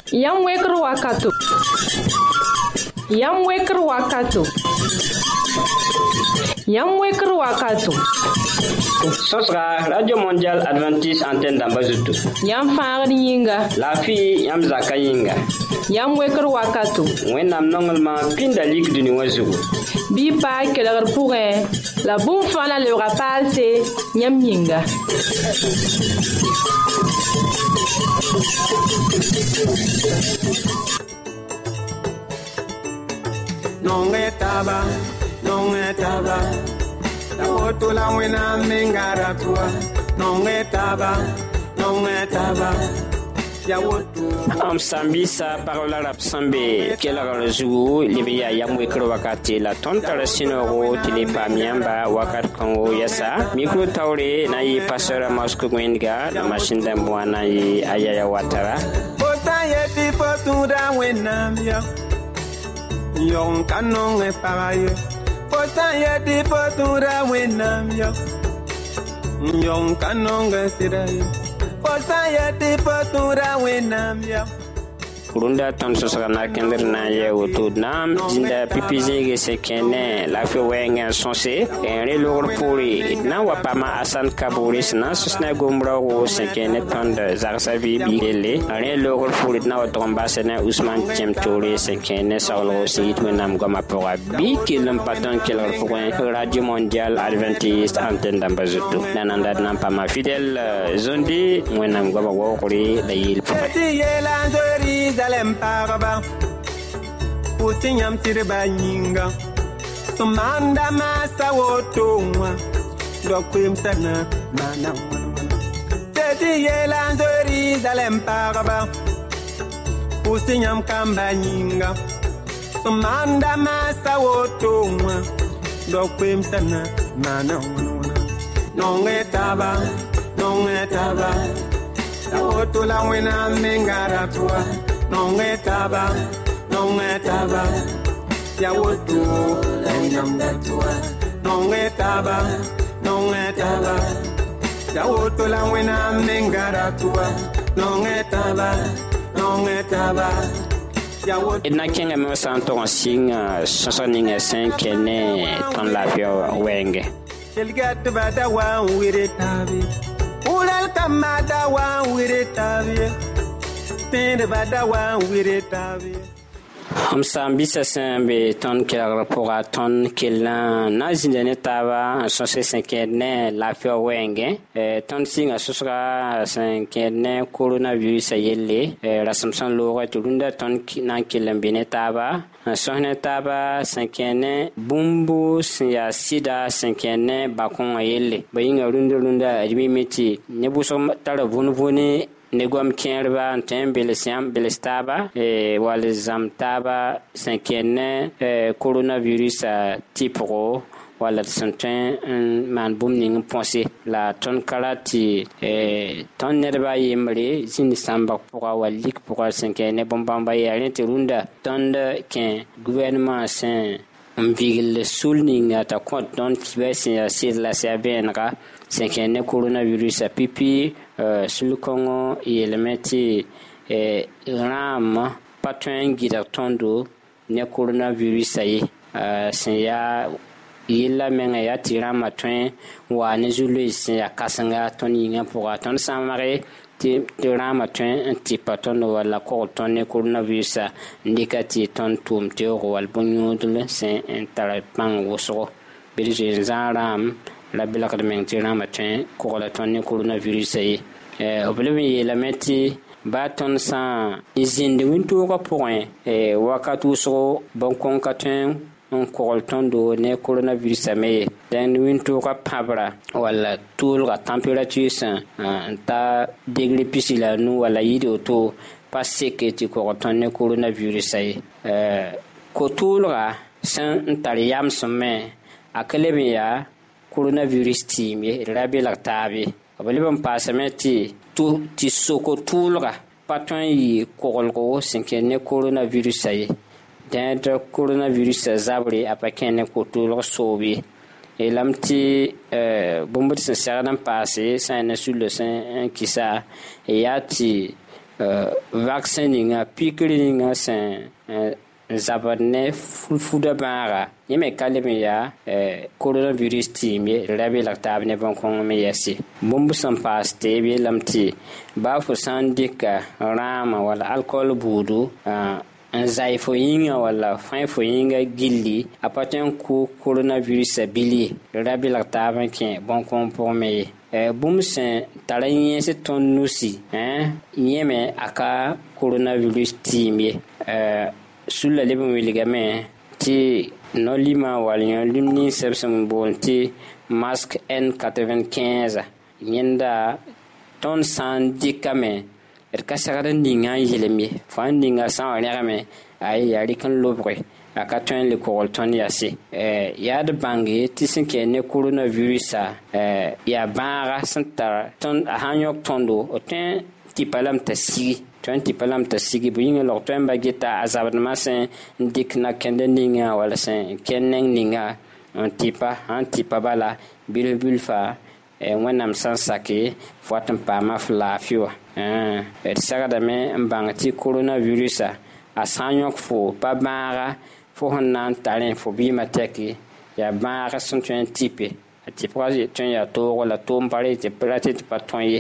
Yam wekr wakato. Yam wekr wakato. Yam wekr wakato. Sosra Radio Mondial Adventiste Antenne d'Ambazutu. Yam faagd yĩnga. La fille yam zaka yĩnga. Yam wekr wakato. Wẽnnaam nonglema pĩnda lik dũni wã zugu. Bɩ paa kelgr pʋgẽ la bũmb fãa la lebga paalse yãmb yĩnga. Non etaba la woto la wena mengara tua non etaba ya woto am sambisa parola rap sambe kelagara zugu libiya yam wekro wakati la tontara sinoro tilipa miamba wakat kongo yasa micro tawre na yi pastora masko gwenga na mashinda mwana yi ayaya watara ota yeti fotura wena mia yon kanon e paraye ota yeti fotura wena mia yon kanon e sirai ota yeti fotura wena mia kurunda ton sosga na kender na ye woto nam jinda pipizege sekene la fe wenga sonse en relor puri na wapama asan kaburis na sosna gombra wo sekene ton de zarsavi bidele en relor puri na watomba sene Ousmane Chemtouri sekene sawlo sit wenam goma pora bi kilum paton kelor point Radio Mondial Adventiste Antenne d'Ambazutu nananda nam pa ma fidèle zondi wenam goma wo kuri da yil Jerusalem paraba Utinyam tirba nyinga Sumanda masa wotonwa Dokwim sana mana Teti yelan Jerusalem paraba Utinyam kamba nyinga Sumanda masa wotonwa Dokwim sana mana Non etaba La woto la wena mengara tua non etaba ya woto engam da tua non etaba ya woto la wena mengara tua non etaba ya woto ina kenga me santo singa sosoninga 5 ne ton la fio wenge kelgat bada wa wire tabi ulal kamada wa wire tabi tende bada wa wire tabi am sambisa sembe ton kelagra pour ton kelan nazindene taba sose 5 ne la fio wenge ton singa susra 5 ne coronavirus yelle rasamsan loga tulunda ton nan kelan bene taba sohne taba 5 ne bumbu ya sida 5 ne bakon yelle bayinga runda admimiti ne buso tara vunvuni negom kierba antem belesiam belestaba wal zamtaba 5 ne coronavirus tipo wala santen man bumning pensé la ton kalati ton nerba yemre zin samba pour walik pour 5 ne bombamba ya runda ton de ken gouvernement sain mvigil sulning ata compte don qui va c'est la serbenra 5 ne coronavirus pipi sur le Congo elementi ram patwen gida tondo ne coronavirus ayi ya yilla menga ya tira matwen wa ne zulu ya kasanga toni nga pour attendre samare ti tira matwen ti paton wala ko ton ne coronavirus ndikati ton tum te wal bonyudle c'est interpang woso bilje zaram la bilak de mentira matin ko la ton ne coronavirus yi oblevi la meti baton sa izinde winto ko point wakatu so bon konkaten on korolton do ne coronavirus me den winto ko pabra wala tout la température sa ta degré pisila nu wala yido to passer que ti korolton ne coronavirus yi ko tulra san tariyam somme akalemiya coronavirus timie rabi laktabi abaliban pasameti tu ti soko tulga patron yi kolgo sinkene coronavirus ay dentro coronavirus zabri apakene ko tulga sobi elamti bombot se serdan passé ça ne sur le sein qui ça et yati vaccin ninga pikiri ninga sen zabane fuda bara yeme kaleme ya coronavirus timye rabi laktabne bon kon me yasi bombu sampaste be lamti ba fu sandika rama wala alcool budu zai fo yinga wala fain fo yinga gilli apaten ku coronavirus bili rabi laktabne ke bon kon pour me bumsen taranyen se ton nusi yeme aka coronavirus timye sulla lebon wiligame ti nolima walion limni sebsam bonti masque N95 yenda ton sandikame kasara ninga yelemi fandinga san regame ay yari kan lobre aka ton le kolton yasi yad bangi tisinke ne coronavirus ya bara santa ton hanyok tondo oten tipalam tasi 20 palam ta sigi buinga lo temba gita azabad masen dik na kende ninga wala sen keneng ninga antipa bala bilfa wanam sansaki fotam pa mafla fiwa saga me mbangati coronavirus a sanyok fo pa bara fo hanan talen fo bi mateki ya bara son 20 tipe ti projet tun ya to wala to mpare ti prate ti patonye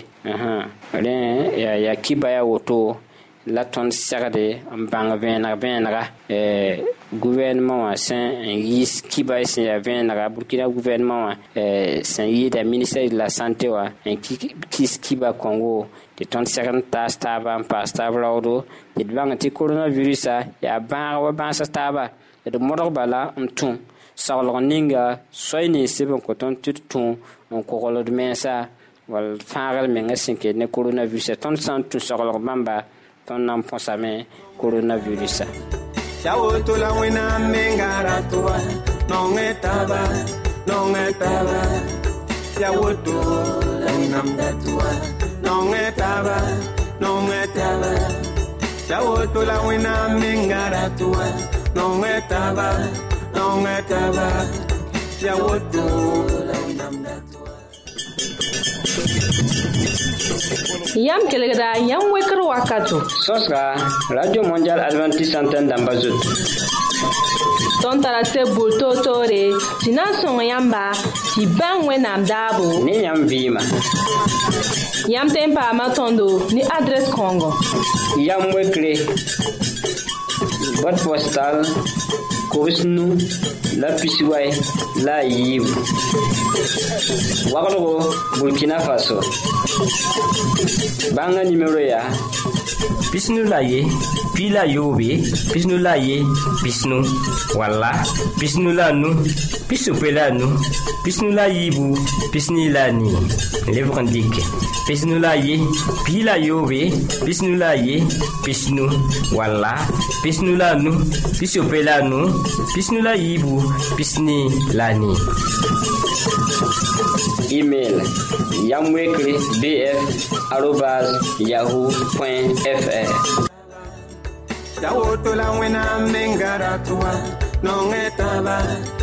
ya kibaya woto la ton sagade mbang venra gouvernement wa sen yis kibaya sen ya venra Burkina gouvernement wa sen yida ministère de la santé wa kis kiba Congo de ton sagade tastaba pastaba odo de bang ti coronavirus ya ba wa ba tastaba de modor bala mtum saulon ninga soyni sebon ko ton tutun on ko rolo de mensa wal faral menga sinke ne coronavirus ton santu saulon bamba ton nam posame coronavirus yawo to la wena mengara toa non etaba yawo to la nam datua non etaba yawo to la wena mengara toa non etaba yam kelegda yam wekr wakato sosra radio mondial adventiste antenne d'Ambazut ton tarase bulto tore tina son yamba ti bangwe nam dabo ni yam vima yam tempa matondo ni adresse Congo yam wekre boîte postale Kousnou, la Pisiway, la Yib. Waglogo, Burkina Faso. Banga numéro ya. Pisnu la ye, pila yobe, pisnu la ye, pisnu. Walla, pisnu la nu, pisu pela nu, pisnu la yibu, pisni la ni. Lèvre indique. Pisnu la ye, pila yobe, pisnu la ye, pisnu. Walla, pisnu la nu, pisu pela nu, pisnu la yibu, pisni la ni. Email yamwekri@yahoo.fr. Yawo to la wena mengara toa non etaba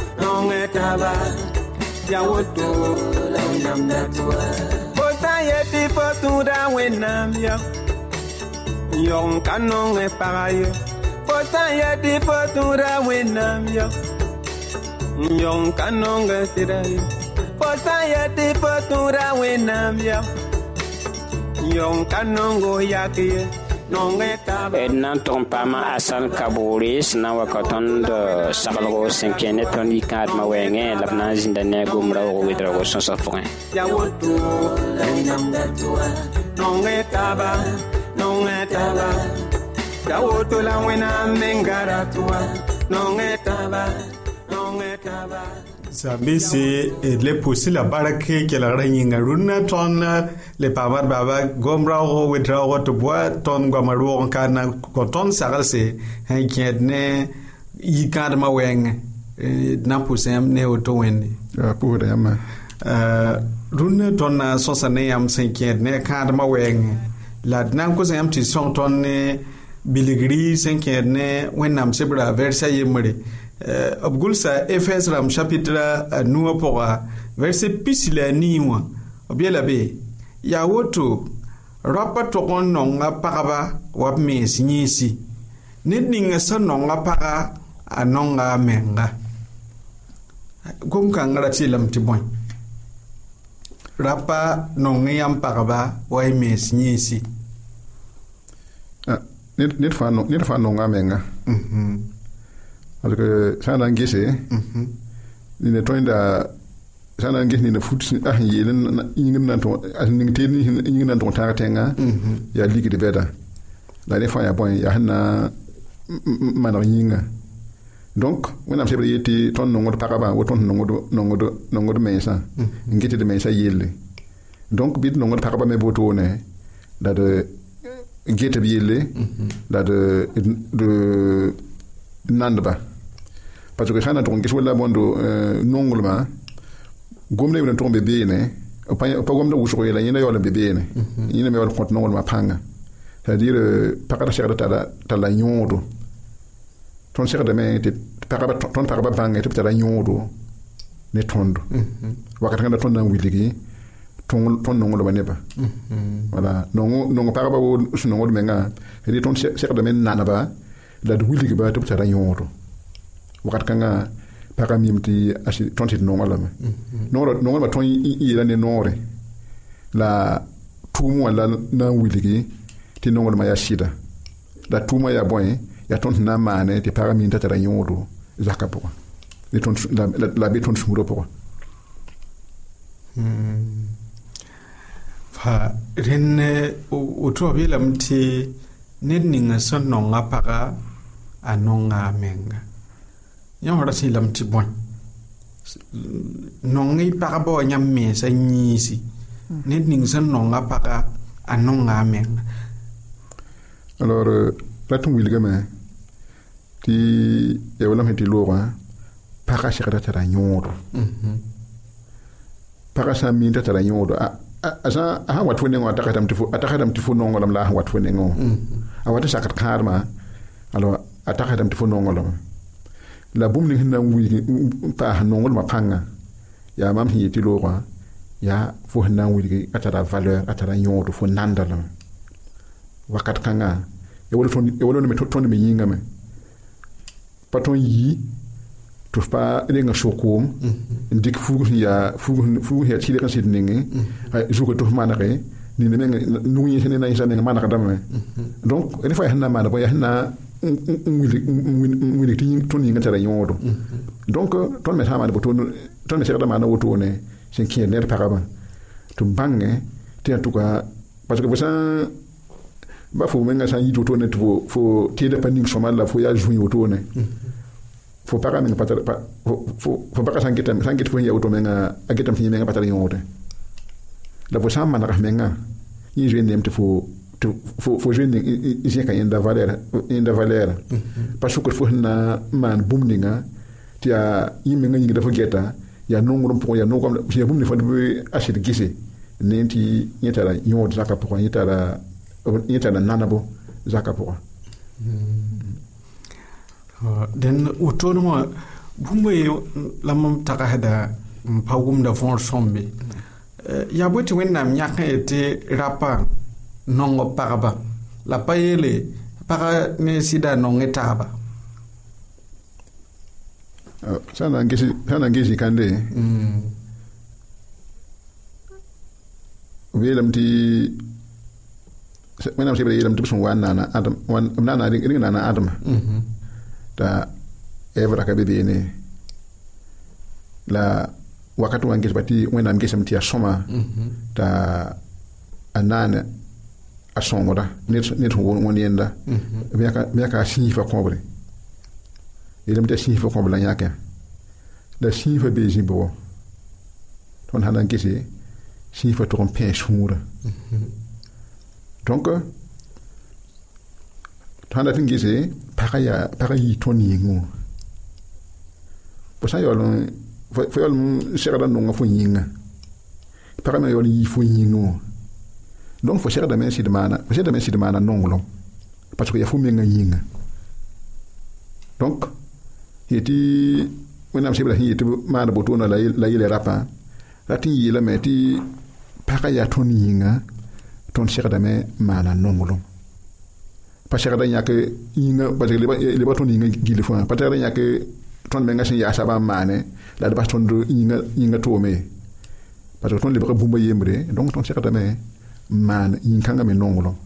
yawo to la nam datua bota yeti fotura wena mia yon kanon e parayo bota yeti fotura wena mia yon kanon e sirayo bota yeti fotura wena mia yon kanon go yakie nan ton pama asan kaboris na wakaton de sabalgo senkene toni kad ma wenge labna zindane gumra o widra go sonsa point ya woto la nam datua non etaba ya woto la wena mengara tua non etaba Sabisi le pusi la barake ke la ranyinga runa ton le pamar baba gomra o wedra o to bois ton gomaru on kana koton sagalse han kiedne yikad ma weng na pusem ne o to wendi pour ama runa ton na sosane am senkiedne kad ma weng la nan ko sem ti son ton ne biligri senkiedne wenam sebra versa yemre Abgulsa Efes Ram chapitre nous pour verset pisila niwa obiela be ya woto rapa tokon nonga pagaba wap mes nyisi ned ninga sa nonga paga a nonga menga gom kangara tilam tiboy rapa nonga yam pagaba wai mes nyisi ned fa nonga menga parce que ça n'a ngissé ni ne toinda ça n'a ngissé ni ne foot yelen ingin to ning te ni ingin to ta tenga ya ligi de beda la des fois ya bon ya na man yinga donc when am sebre yeti ton no ngod pakaba wo ton no ngod mesa ngiti de mesa yelle donc bit no ngod pakaba me boto ne da de ngete bi yelle da de nandba parce que xana ton gis wala bondo nongulma gomne wona ton bebe ne pa gomne wuso yela yina yola bebe ne yina me wala kont nongulma panga c'est-à-dire pakata cher ta la nyodo ton cher de me te pakaba ton pakaba banga te ta la nyodo ne tondo wakati ngana ton na wiligi ton nongulma ne ba voilà nongo pakaba wo nongol menga et ton cher de me nanaba la de wiligi ba te ta la nyodo wakat kanga para mimti asi tonti nongala me nongala ba ton yela ne nore la tumu la na wiligi ti nongala ma ya shida la tumu ya boy ya tonti na mane ti para minta tara nyodo zakapo ni ton la be ton sumuro po fa renne o to bela mti nedninga son nonga para anonga menga yang ora si lam ti bon nongi para bo nyam me sa nyisi net ning san nonga para anonga men alors ratum wilga me ti e wala meti lora para shikata tara nyodo para sa min tara nyodo asa ha watwe nengo atakatam tifu nongo lam la watwe nengo awata sakat karma alors atakatam tifu nongo lam la bum ni hinna wi pa nongol ma panga ya mam hi ti lo ya fo hinna wi atara valeur atara nyodo fo nandala wakat kanga e wolo me ton me yinga me paton yi to pa renga shokom ndik fugu ya ti de sit ningi juko to manare ni ne nuyi hene na isa ne manaka dame donc ele fa hinna mana bo ya hinna wili tin ton yinga tara nyodo donc ton me sama de boton ton me serda mana woto ne sen kien ne paraba to bange ti en tout cas parce que ça ba fo menga sa yito to ne to fo ti de paning somal la fo ya jouer woto ne fo para menga patara fo para sangit fo ya woto menga agetam ti menga patara nyodo la fo sama na menga yi je nem te fo jeune ici quand il y a valeur parce que fo na man bumninga ti a yimbe nga ngi dafa geta ya nongrum pour ya nongom ya bumni fo de acheter gise nenti yetara nyod zaka pour yetara nanabo zaka pour den autonomo bumbe lamam taka hada mpagum da fon sombe ya boti wennam nyaka ete rapa nongo paraba la payele para ne sida nonge taba sana ngesi kande welam ti menam sebe yelam tibsun wana na adam wan nana ring nana adam ta evra ka bebe ne la wakati wangesi bati wenam ngesi mti asoma ta anana asongoda net won yenda biaka sifa kombre yelam ta sifa kombre nyaka da sifa beji bo ton halan kesi sifa to kompe sura donc tanda tingise para yi toni ngo po sa yolo fo yolo serada no ngafo yinga para me yolo yi fo yingo donc fo serada men si de mana nongolo parce que ya fo menga yinga donc yeti wenam sibla yeti mana botona la yele rapa lati yela meti para ya toni yinga ton segdame maana nongolem pa segda yãke yĩnga parce que le ba tõnd yĩnga gil fãa pa segda yãke tõnd menga sẽn yaa sabã n maane la d bas tõnd yĩnga toome parce que tõnd lebga bũmba yembre donc tõnd segdame n maan yĩn-kãngã me nonglem.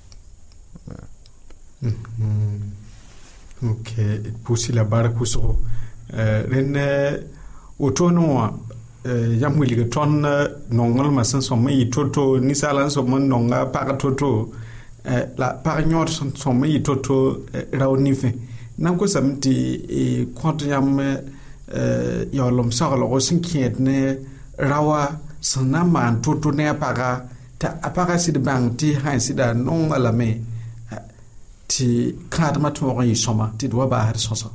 Ok, pusi la bark pʋsgo rẽnd wotone wã yãmb wilg tõnd nonglmã sẽn sõm n yɩ to-to ninsaala n sõm n nonga pag to-to la pag yõod sẽn sõm n yɩ to-to rao nifẽ nan kosame tɩ kõt yãmb yaoolem saglgo sẽn kẽed ne raoa sẽn na n maan to-to ne a paga t'a a paga sɩd bãng tɩ sãn sɩda nonga lame tɩ kãadmã tõog n yɩ sõma tɩ d wa baasd sõsa.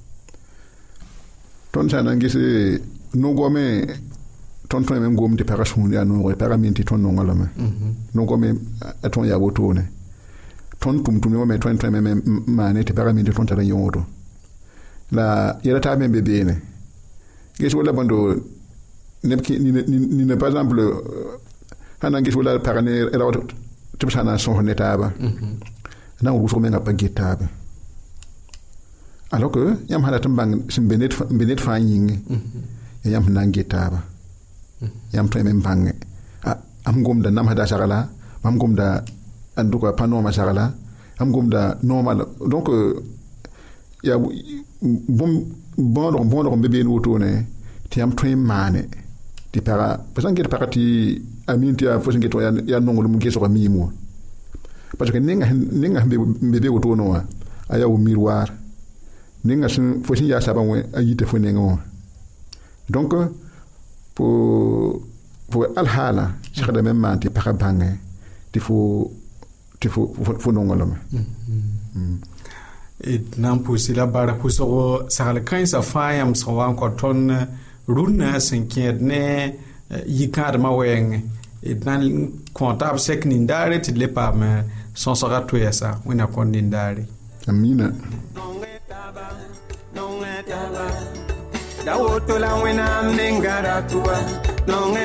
Tõnd sã na n ges no-goame tõnd tõe me n gom tɩ pagã sũur yaa nooge pagã min tɩ tõnd nonga lame no-goame a tõnd yaa wotone tõnd tʋm-tʋmdẽ wã me tõe me maane tɩ pagã min tɩ tõnd tara yõodo la yɛla taab me be beene ges wala bõndo neb nina par exemple sã na n ges wala pag ne rao tɩ b sã na n sõs ne taaba na n wʋsg mengã pa get taabe alors que yãmb sã dat n bãng sẽn be ned fãa yĩnge yãmb sẽn na n get taaba yãmb tõe me n bãnge am gomda namsda sagla mam gomda a dʋka pa noomã sagla am gomda noomã donc yaa bõodg n be been wotone tɩ yãmb tõe n maane tɩ pagã pa sã n get pagã tɩ a min tɩ yaa fo sẽn get wã yaa nonglem gesga miim wã parce que nenga sẽn be be wotone wã a yaa miroir nenga fo sẽn yaa sabã wẽ a yita fo nengẽ wã donc fo alhaala segdame n maan tɩ pagã bãnge tɩ fo nonglame. D na n pʋʋsy la bara pʋsgo sagl kãensã fãa yãmb sẽn wa n kõ tõnd rũnnã sẽn kẽed ne yi-kãadmã wɛɛngẽ d na n kõ taab sɛk nindaare tɩ d le paam sõsga toɛɛsa wẽnna kõn nindaare. Amina. Da woto la wẽnnaam nengara tʋwa nonge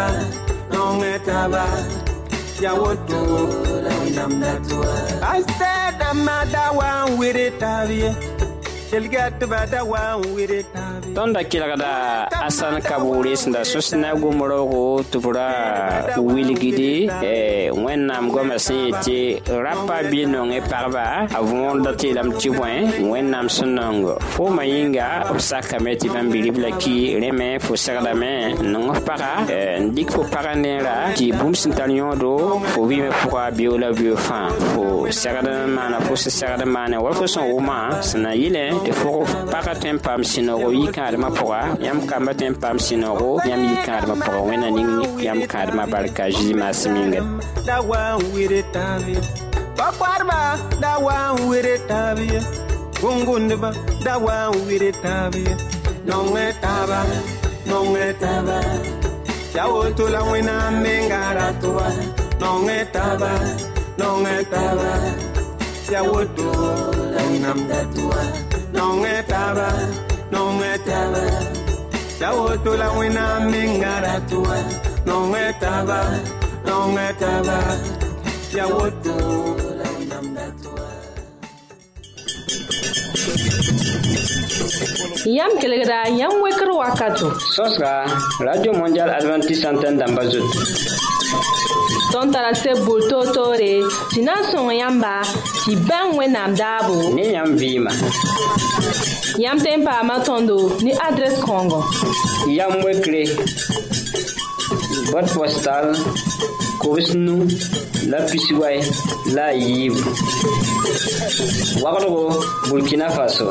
taba ya woto la wẽnnaam da tʋwa a sɛdãmbã da wa n wɩre taab ye kelgatba da wa n wɩre taab ye tõnd da kelgda a sãn kaboore sẽn da sõs na gom raoogo tɩ b ra wilgde wẽnnaam goamã sẽn yetɩ rapa bɩ nongẽ pagba a võorda tɩ yeelame tɩ bõe wẽnnaam sẽn nong foma yĩnga b sakame tɩ bãmb bi-rib la ki rẽme fo segdame n nong f paga n dɩk fo pagã neera tɩ bũmb sẽn tar yõodo fo vɩɩme pʋga bio la bio fãa fo segd n maana fo sẽn segd n maane wa fo sẽn wʋma sẽn na yɩlẽ tɩ fo pagã tõe n paam sɩnogo yi-kãadmã pʋga yãmb kambã tõe n paam sɩnogo yãmb yi-kãadmã pʋga wẽnna ning yãmb kãadmã barka Zeezi maasem yĩnga da wa n wɩre taab ye bakparba da wa n wɩre taab ye gũngũndba da wa n wɩre taab ye nongẽ taaba ya woto la wẽnnaam mengara tʋwa nongẽ taaba ya woto la wẽnnaam da tʋwa nongẽ taaba ya woto la wẽnnaam mengara tʋwa nongẽ taaba ya woto la wẽnnaam da tʋwa. Yam kelgda yam wekr wakato. Sõsga Radio Mondial Adventiste Antenne dãmba zut. Tõnd tara seb bʋʋr toor-toore tɩ na n sõng yãmba tɩ bãng wẽnnaam daabo ne yãmb vɩɩma. Yãmb tõe n paama tõndo ne adrɛs kãongo. Yam wekre boîte postale Kobsnu la Pisiway la Yiib wagdgo Burkina Faso.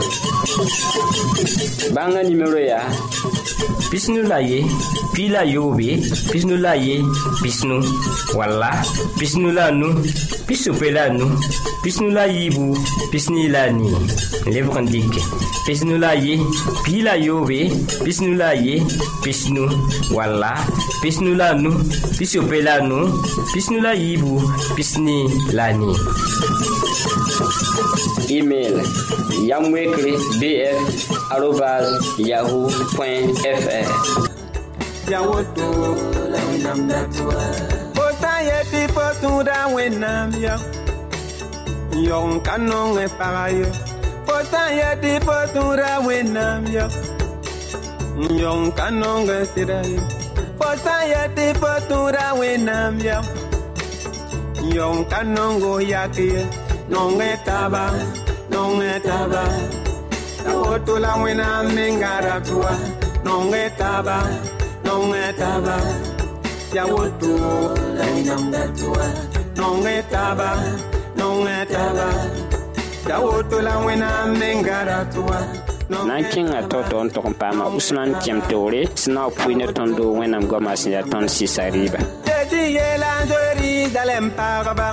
Bãngã nimero yaa pisnu la ye pi la yobe pisnu la ye pisnu walla pisnu la nu pisope la nu pisnu la yibu pisni la ni lebg n dɩke pisnu la ye pi la yobe pisnu la ye pisnu walla pisnu la nu pisope la nu pisnu la yibu pisni la ni. Email yamwekre@yahoo.fr. Ya woto la wẽnnaam da tʋwa fo sã n yetɩ fo tũuda wẽnnaam ya yõg ka nong pagayo fo sã n yet tɩ fo tũuda wẽnnaam ya yõg ka nong sɩda ye fo sã n yet tɩ fo tũuda wẽnnaam ya yõg ka nongo yak ye nong taba ta woto la wẽnnaam mengara tʋa nong taba ya woto la nonga tʋa nong taba ya woto la wẽnnaam mengara tʋa nan kẽngã tao n tog n paama usman tɩm toore sẽn na pʋɩ ne tõndo wẽnnaam goamã sẽn yaa tõnd sɩsa rɩɩba tɩ yeela n Jerusalem paagba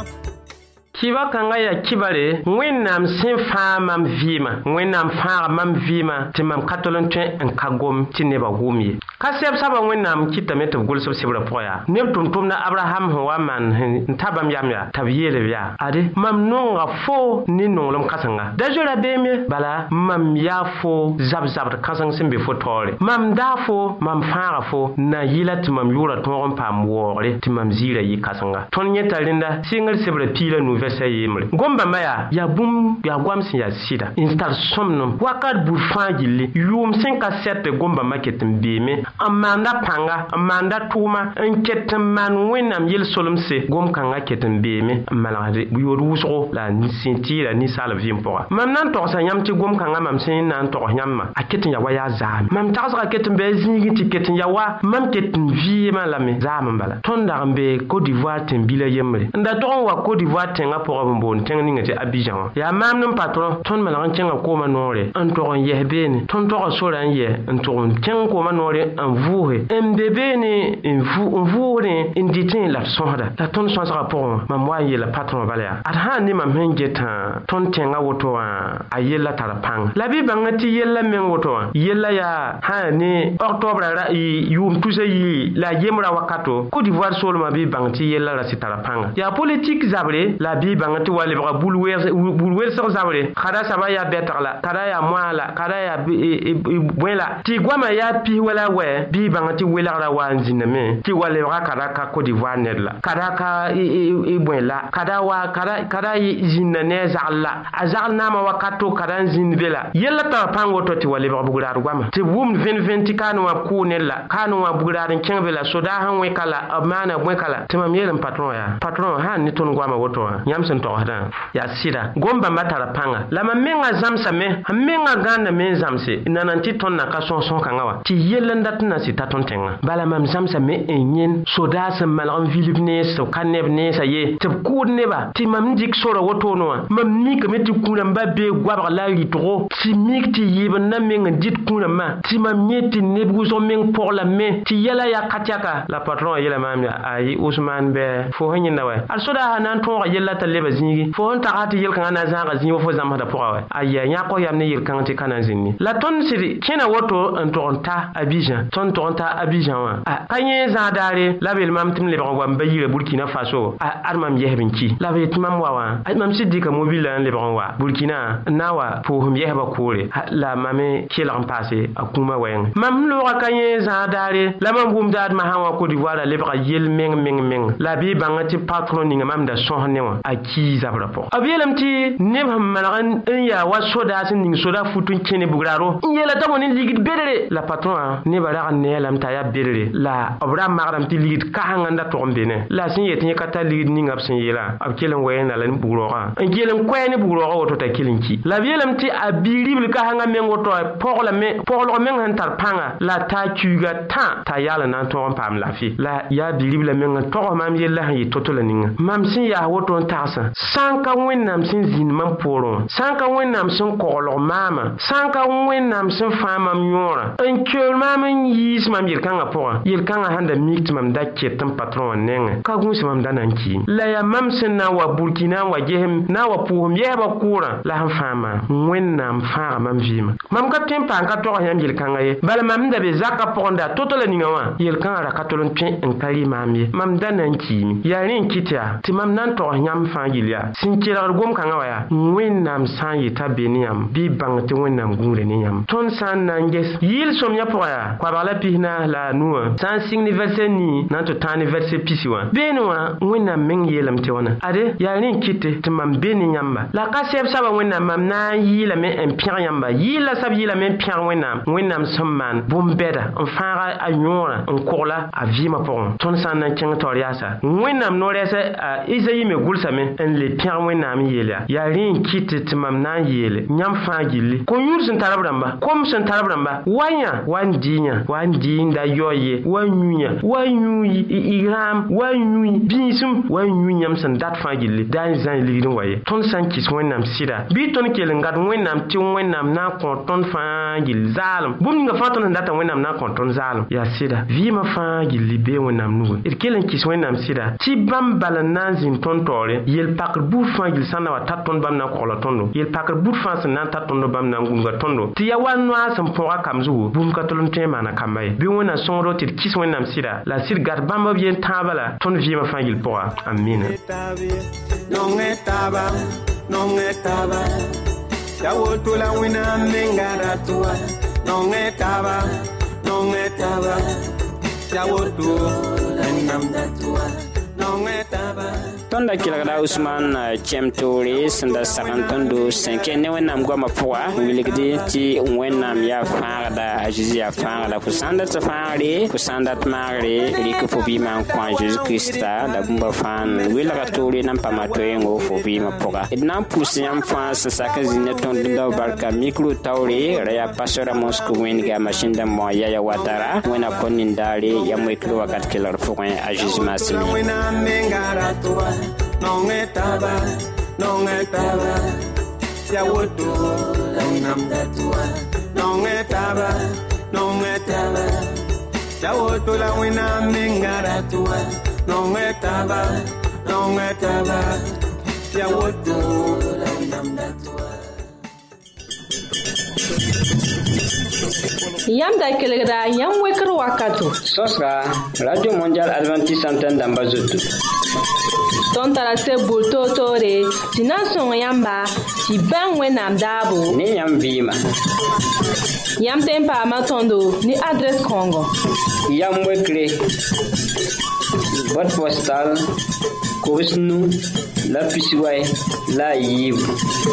kiba kanga ya kibare wẽnnaam sẽn fãa mam vɩɩma wẽnnaam fãaga mam vɩɩma tɩ mam ka tol n tõe n ka gom tɩ nebã wʋm ye ka sɛb saba wẽnnaam kɩtame tɩ b gʋls b sebrã pʋgã yaa neb tʋm-tʋmda abraham sẽn wa maan n ta bãmb yam yaa t'a b yeelb yaa ade mam nonga fo ne nonglem kãsenga da zoera beeme bala mam yaa fo zab-zabd kãseng sẽn be fo taoore mam daa fo mam fãaga fo na yɩla tɩ mam yʋʋra tõog n paam waoogre tɩ mam ziirã yɩ kãsenga tõnd yẽta rẽnda sɩngr sebrã piila nu vɛsa yembre gom-bãmba yaa bũmb yaa goam sẽn yaa sɩda n tar sõmdem wakat bur fãa gilli yʋʋm sẽn ka sɛt gom-bãmba ket n beeme n maanda pãnga n maanda tʋʋma n ket n maan wẽnnaam yel-solemse gom-kãngã ket n beeme n malgd yood wʋsgo la sẽn tɩɩra ninsaalb vɩɩm pʋga mam na n togsa yãmb tɩ gom-kãngã mam sẽn na n togs yãmbã a ket n ya wa yaa zaame mam tagsga ket n bɩ a zĩig tɩ ket n ya wa mam ket n vɩɩmã lame zaam n bala tõnd dag n be Côte d'Ivoire tẽn-bila yembre n da tog n wa Côte d'Ivoire tẽngã pʋgã b n boond tẽng ninga tɩ Abidjan wã yaa maam ne patron tõnd malg n kẽnga koomã noore n tog n yɛs beene tõnd tog n sora n yɛ n tog n kẽng koomã noore n vʋʋse n be beene n vʋʋsdẽ n dɩtẽ la d sõsda la tõnd sõsgã pʋgẽ mam wa n yeela patron bala yaa ad sã n ne mam sẽn getã tõnd tẽngã woto wã a yella tara pãng la bɩ bãnga tɩ yella meng woto wã yella yaa sã ne octobre yʋʋm tusa yi la yembrã wakato Côte d'Ivoire soolmã bɩ bãng tɩ yella ra sɩ tara pãnga yaa politique zabre la bɩ bãng tɩ wa lebga bul-welsg zabre kada saba yaa bɛtg la kada yaa moa la kada yaa bõe la tɩ goamã yaa pis wala wɛ bɩ bãng tɩ welgra wa n zĩndame tɩ wa lebga kada ka Côte d'Ivoire ned la kada ka bõe la kada zĩnda ne a zagl la a zagl naamã wakato kada n zĩnd be la yella tara pãng woto tɩ wa lebg bugraad goamã tɩ b wʋmd vẽn tɩ kaane wã kʋʋ ned la kaane wã bugraad n kẽng be la sodaa sẽn wẽka la b maana bõeka la tɩ mam yeelm patron yaa patron sã n ne tõnd goamã woto wã yãmb sẽn togsdã yaa sɩda gom-bãmba tara pãnga la mam menga zãmsame n menga gãndame n zãmse n na n tɩ tõnd na ka sõs-sõs-kãngã wa tɩ yell n dat n na sɩ ta tõnd tẽngã bala mam zãmsame n yẽn sodaa sẽn malg n vilb nees tɩ b ka neb neesã ye tɩ b kʋʋd neba tɩ mam n dɩk sora wotoone wã mam mikame tɩ kũ-rãmbã bee goabg la rɩtgo tɩ mik tɩ yɩɩb n na meng n dɩt kũ-rãmbã tɩ mam yẽ tɩ neb wʋsg meng poglame tɩ yɛla yaa ka tɛka la patron yeela maam ayi Usman bɛ fo sẽn yẽnda wɛ ad sodaa sã na n tõoga yella t'a leba zĩigi fo sẽn taga tɩ yel-kãngã na zãaga zĩig wa fo zãmsda pʋga wɛ aya yãk yam ne yel-kãng tɩ ka na n zĩnd la tõnd sɩd kẽna woto n tog n ta Abidjan tõnd tog n ta Abidjan wã ka yẽ zãag daare la b yel mam tɩ m lebg wa m ba yira Burkina Faso ad mam yɛsb n ki la b yetɩ mam wa wã mam sɩd dɩka mobila n lebg n wa Burkina n na n wa pʋʋsem yɛsba koore la mame kelg n paase a kũumã wɛɛngẽ mam loogã ka yẽ zãag daare la mam wʋmda ad masã wã Côte d'Ivoire a lebga yel meng la bɩ bãnga tɩ patron ninga mam da sõs ne wã a kii zabrã pʋgẽ b yeelame tɩ neb sẽn malg n yaa wa sodaa sẽn ning soda fut n kẽne bugraaro n yeela t'a bõe ne ligd bedre la patron nebã rag n neelame t'a yaa bedre la b ra magrame tɩ ligd kasẽngã n da tog n be ne la sẽn yet yẽ ka tar ligd ninga b sẽn yeela b kell n wɛɛnda la ne bugrɔɔgã n kell n koɛɛ ne bugrɔɔgã woto t'a kell n ki la b yeelame tɩ a bi-ribl kasẽngã meng woto poglg meng sẽn tar pãnga la t'a kiuga t'a yaal n na n tõog n paam laafɩ la yaa bi-ribla meng n togs mam yella sẽn yɩ to-to la ninga mam sẽn yaa woto n tagsã sã n ka wẽnnaam sẽn zĩnd mam poorẽ wã sã n ka wẽnnaam sẽn koglg maamã sã n ka wẽnnaam sẽn fãa mam yõorã n keool maam n yiis mam yel-kãngã pʋgã yel-kãngã sãn da mik tɩ mam da ket n patron wã nengẽ ka gũus mam da na n kiim la yaa mam sẽn na n wa Burkina n wa gesem na n wa pʋʋsem yɛsbã kʋʋrã la sẽn fãa maam wẽnnaam fãaga mam vɩɩmã mam ka tõe n paam ka togs yãmb yel-kãngã ye bala mam da be zakã pʋgẽ da to-to la ninga wã yel-kãngã ra ka tol n tõe n ka rɩ maam ye mam da na n kiime yaa rẽ n kɩt yaa tɩ mam na n togs yãmb fãa gill yaa sẽn kelgd gom-kãngã wa yaa wẽnnaam sã n yeta be ne yãmb bɩ y bãng tɩ wẽnnaam gũudre ne yãmb tõnd sã n na n ges yɩɩl sõmyã pʋgã yaa koabg la pisna la a nuwã sã n sɩng ne vɛrse nii na n tɩ tãag ne vɛrse pisi wã beene wã wẽnnaam meng yeelame tɩ wãna ade yaa rẽ n kɩte tɩ mam be ne yãmba la ka sɛb saba wẽnnaam mam na n yɩɩlame n pẽg yãmba yɩɩl la sab yɩɩlame n pẽg wẽnnaam sẽn maan bũmb-bɛda n fãaga a yõorã n kogla a vɩɩmã pʋgẽ tõnd sã n na n kẽng taoor yaasa wẽnnaam no-rɛɛsɛ a isayi me gʋlsame n le pẽg wẽnnaam n yeel yaa yaa rẽ n kɩte tɩ mam na n yeele yãmb fãa gilli ko-yũud sẽn tar b rãmba kom sẽn tar b rãmba wa yã wa n dɩ yã wa n dɩ n da yaool ye wa n yũ yã wa n yũ igrãam wa n yũ bĩisem wa n yũ yãmb sẽn dat fãa gilli daa n zã ligd n wa ye tõnd sã n kɩs wẽnnaam sɩda bɩ tõnd kell n gat wẽnnaam tɩ wẽnnaam na n kõ tõnd fãa gill zaalem bũmb ninga fãa tõnd sẽn data wẽnnaam na n kõ tõnd zaalem yaa sɩda vɩɩmã fãa gilli bee wẽnnaam nugẽ d kell n kɩs wẽnnaam sɩda tɩ bãmb bal n na n zĩnd tõnd taoore yel-pakr buud fãa gill sã n na wa tar tõnd bãmb na n kogla tõndo yel-pakr buud fãa sẽn na n tar tõndo bãmb na n gũnga tõndo tɩ ya wa noa sẽn pʋga kam zugu bũmb ka tol n tõe n maana kamba ye bɩ wẽnna sõngdo tɩ d kɩs wẽnnaam sɩda la sɩd gat bãmb b yen tãabã la tõnd vɩɩmã fãa gill pʋga amina non estaba ya woto la wina mengara tua non estaba ya woto la namda tua non estaba tõnda kelgda usman chemtoore sẽn da sagn tõndo sẽn kẽ ne wẽnnaam goamã pʋga wilgde tɩ wẽnnaam yaa fãagda a zeezi yaa fãagda fo sã n dat fãagre fo sã n dat maagre rɩk fo vɩɩmã n kõ a zeezi kirista la bũmba fãa n welga toore na n paama toeengo fo vɩɩmã pʋga d na n pʋs yãmb fãa sẽn sak n zĩnd ne tõnd dũnda barka mikro taoore ra yaa pastora mosco wẽnga masin dãmbõ yaya watara wẽna kõ nindaare yam wekd wakat kelgd pʋgẽ a zeezi maaseme non estaba ya woto la namda tua non estaba ya woto la wina mengara tua non estaba ya woto la namda tua yãmb da kelgda yãmb wekr wakato sõsga radio mondial adventiste antenne dãmba zoto tõnd tara seb bur toor-toore tɩ na n sõng yãmba tɩ bãng wẽnnaam daabo ne yãmb vɩɩma yãmb tõe n paama tõndo ne adrɛs kãongo yam wekre boîte postale kobs nu la pisiway la a yiibu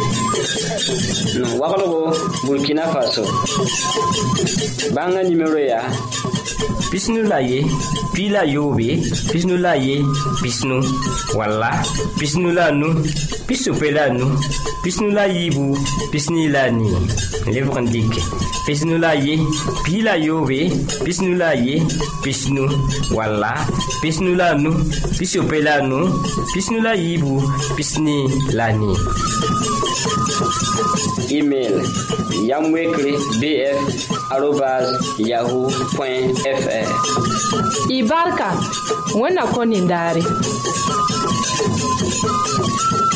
waglgo burkina faso bãnga nimero yaa pisnu la ye pi la yobe pisnu la ye pisnu walla pisnu la nu pisope la nu pisnu la yibu pisni la ni lebg n dɩke pisnu la ye pi la yobe pisnu la ye pisnu walla pisnu la nu pisope la nu pisnu la yibu pisni la ni email yamwekre bf@yahoo.fr y barka wẽnna kõ nindaare